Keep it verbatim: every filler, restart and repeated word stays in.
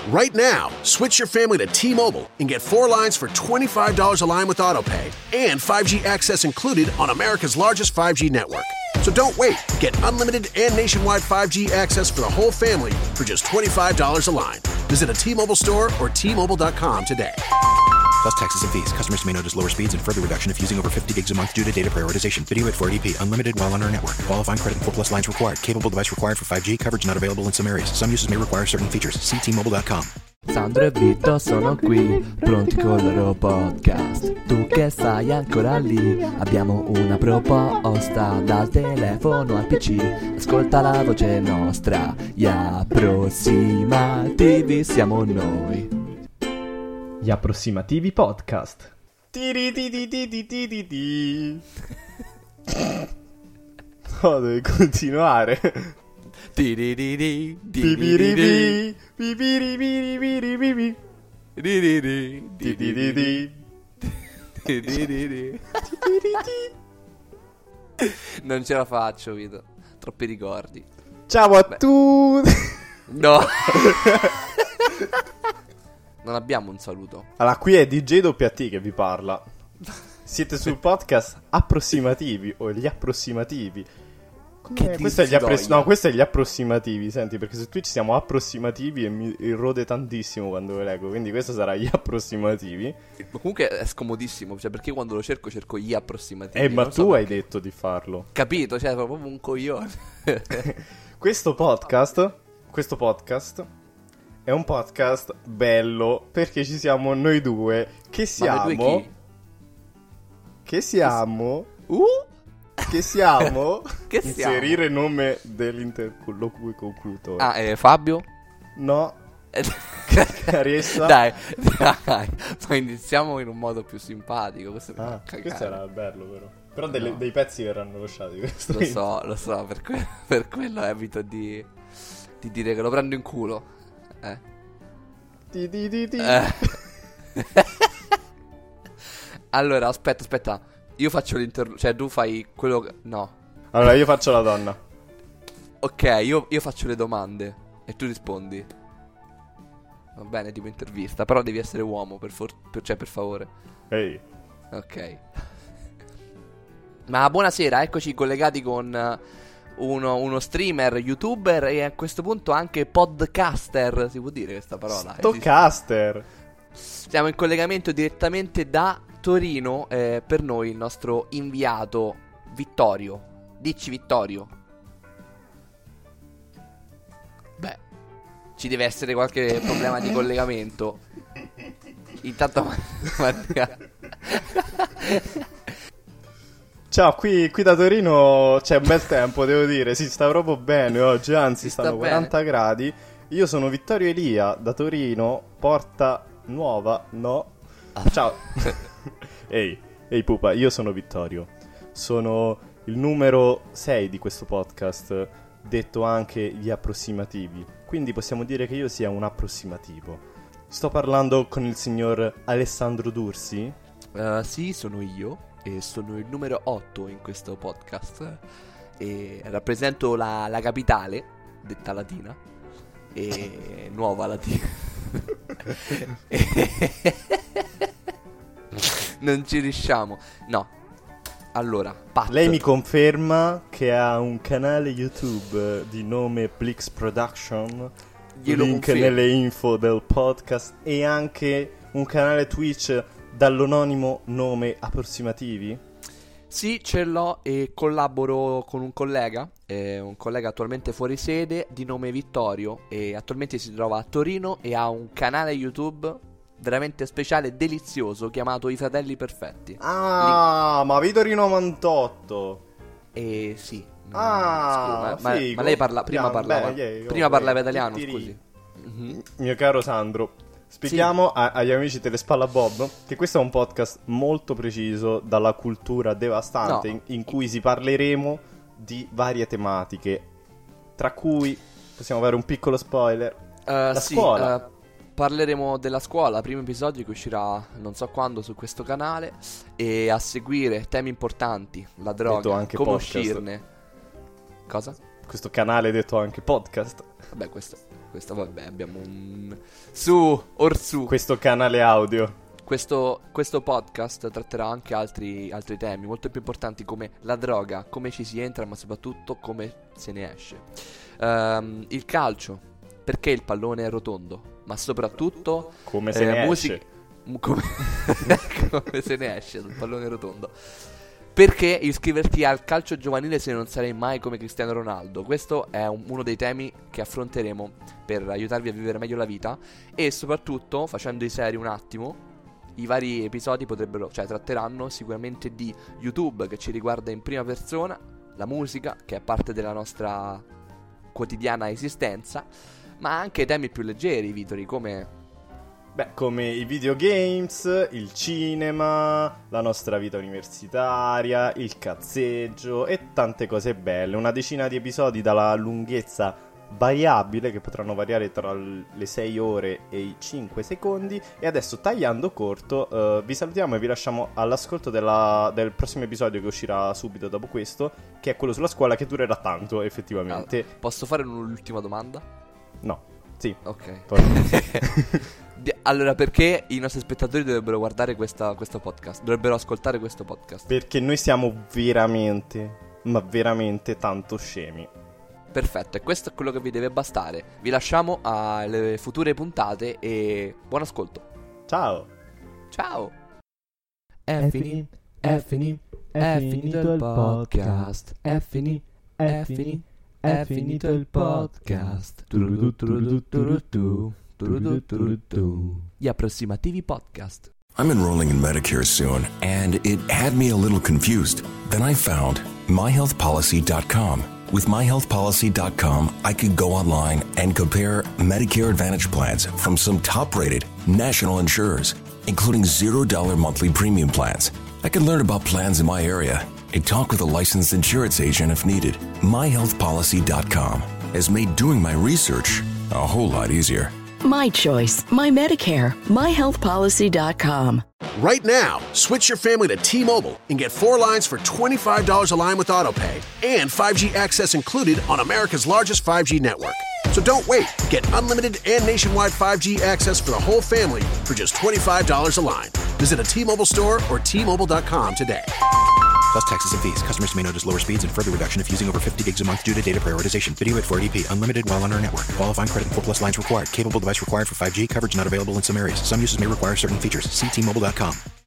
Right now, switch your family to T-Mobile and get four lines for twenty-five dollars a line with AutoPay and five G access included on America's largest five G network. So don't wait. Get unlimited and nationwide five G access for the whole family for just twenty-five dollars a line. Visit a T-Mobile store or T Mobile dot com today. Plus taxes and fees. Customers may notice lower speeds and further reduction if using over fifty gigs a month due to data prioritization. Video at four eighty p. Unlimited while on our network. Qualifying credit and four plus lines required. Capable device required for five G. Coverage not available in some areas. Some uses may require certain features. See T Mobile dot com. Sandro e Vito sono qui, pronti con il loro podcast. Tu che stai ancora lì, abbiamo una proposta. Dal telefono al P C, ascolta la voce nostra. Gli approssimativi siamo noi. Gli approssimativi podcast. No, devi continuare. Non ce la faccio, Vito. Troppi ricordi. Ciao a tutti. No. Non abbiamo un saluto. Allora, qui è D J W T che vi parla. Siete sul podcast approssimativi o gli approssimativi. Che Eh, questo è gli appres- no, questo è gli approssimativi. Senti, perché su Twitch siamo approssimativi e mi rode tantissimo quando lo leggo. Quindi questo sarà gli approssimativi. Ma comunque è scomodissimo. Cioè, perché quando lo cerco, cerco gli approssimativi. Eh, ma non tu so hai perché. detto di farlo. Capito, cioè, proprio un coglione. Questo podcast, questo podcast è un podcast bello perché ci siamo noi due che siamo Ma noi due chi? che siamo Uh? che siamo Che siamo? inserire nome dell'interlocutore. Ah, eh, Fabio? No, Caressa. Dai, dai. Ma iniziamo in un modo più simpatico. Questo, mi Ah, fa cagare. questo era bello però. Però delle- No. dei pezzi verranno lasciati. questo Lo so, lo so, per, que- per quello evito di, di dire che lo prendo in culo. Eh. Ti, ti, ti, ti. Eh. Allora, aspetta, aspetta. Io faccio l'interludio. Cioè, tu fai quello che... No. Allora io faccio la donna. Ok, io, io faccio le domande e tu rispondi. Va bene, tipo intervista. Però devi essere uomo, per, for- per- cioè, per favore. Ehi. Ok. Ma buonasera, eccoci collegati con eh, uno, uno streamer, youtuber e a questo punto anche podcaster. Si può dire questa parola? Esiste? Stocaster. Siamo in collegamento direttamente da Torino, eh, per noi il nostro inviato Vittorio. Dici Vittorio. Beh, ci deve essere qualche problema di collegamento. Intanto Mattia. Ciao, qui, qui da Torino c'è un bel tempo, devo dire, si sta proprio bene oggi, anzi Si sta stanno bene. quaranta gradi. Io sono Vittorio Elia, da Torino, Porta Nuova, no? Ciao. Ehi, ehi pupa, io sono Vittorio. Sono il numero sei di questo podcast, detto anche gli approssimativi. Quindi possiamo dire che io sia un approssimativo. Sto parlando con il signor Alessandro Dursi. Uh, sì, sono io e sono il numero otto in questo podcast e rappresento la, la capitale, detta latina, e nuova latina. Non ci riusciamo. No. Allora, Pat. Lei mi conferma che ha un canale YouTube di nome Plix Production. Glielo Link confermo. nelle info del podcast. E anche un canale Twitch dall'anonimo nome Approssimativi. Sì, ce l'ho e collaboro con un collega, eh, un collega attualmente fuori sede di nome Vittorio e attualmente si trova a Torino e ha un canale YouTube veramente speciale e delizioso chiamato I Fratelli Perfetti. Ah, ma Vittorio novantotto. E sì. no, Ah, scusa, ma, ma- figo. ma lei parla, prima Yeah, parlava, beh, yeah, prima oh, parlava yeah, italiano, tiri. scusi. Mhm. Mio caro Sandro, spieghiamo a- agli amici Telespalla Bob che questo è un podcast molto preciso dalla cultura devastante No. in, in cui si parleremo di varie tematiche, tra cui possiamo avere un piccolo spoiler. Eh, La sì, scuola. eh, parleremo della scuola, primo episodio che uscirà non so quando su questo canale. E a seguire temi importanti, la Detto droga, anche come podcast. uscirne. Cosa? Questo canale detto anche podcast. Vabbè, questo Questo vabbè, abbiamo un... Su, orsù. Questo canale audio. Questo, questo podcast tratterà anche altri, altri temi molto più importanti come la droga, come ci si entra, ma soprattutto come se ne esce. Um, il calcio, perché il pallone è rotondo, ma soprattutto come se eh, ne musica, esce. Come, come se ne esce dal pallone rotondo. Perché iscriverti al calcio giovanile se non sarei mai come Cristiano Ronaldo? Questo è un, uno dei temi che affronteremo per aiutarvi a vivere meglio la vita. E soprattutto, facendo i seri un attimo, i vari episodi potrebbero, cioè tratteranno sicuramente di YouTube, che ci riguarda in prima persona, la musica, che è parte della nostra quotidiana esistenza, ma anche temi più leggeri, Vitori, come... Beh, come i videogames, il cinema, la nostra vita universitaria, il cazzeggio e tante cose belle. Una decina di episodi dalla lunghezza variabile, che potranno variare tra le sei ore e i cinque secondi. E adesso, tagliando corto, uh, vi salutiamo e vi lasciamo all'ascolto della, del prossimo episodio che uscirà subito dopo questo, che è quello sulla scuola, che durerà tanto effettivamente. Ah, posso fare un'ultima domanda? No, sì. Ok. Poi... Allora, perché i nostri spettatori dovrebbero guardare questa, questo podcast? Dovrebbero ascoltare questo podcast? Perché noi siamo veramente, ma veramente tanto scemi. Perfetto, e questo è quello che vi deve bastare. Vi lasciamo alle future puntate e buon ascolto. Ciao. Ciao. È finito, è finito, è finito il podcast. È finito, è finito, è finito il podcast. Turudu, turudu, turudu, turudu, turudu. Gli approssimativi podcast. I'm enrolling in Medicare soon, and it had me a little confused. Then I found my health policy dot com. With my health policy dot com, I could go online and compare Medicare Advantage plans from some top-rated national insurers, including zero dollar monthly premium plans. I could learn about plans in my area and talk with a licensed insurance agent if needed. my health policy dot com has made doing my research a whole lot easier. My choice, my Medicare, my health policy dot com. Right now, switch your family to T-Mobile and get four lines for twenty-five dollars a line with AutoPay and five G access included on America's largest five G network. So don't wait. Get unlimited and nationwide five G access for the whole family for just twenty-five dollars a line. Visit a T-Mobile store or T Mobile dot com today. Plus taxes and fees. Customers may notice lower speeds and further reduction if using over fifty gigs a month due to data prioritization. Video at four eighty p. Unlimited while on our network. Qualifying credit and four plus lines required. Capable device required for five G. Coverage not available in some areas. Some uses may require certain features. See T Mobile dot com.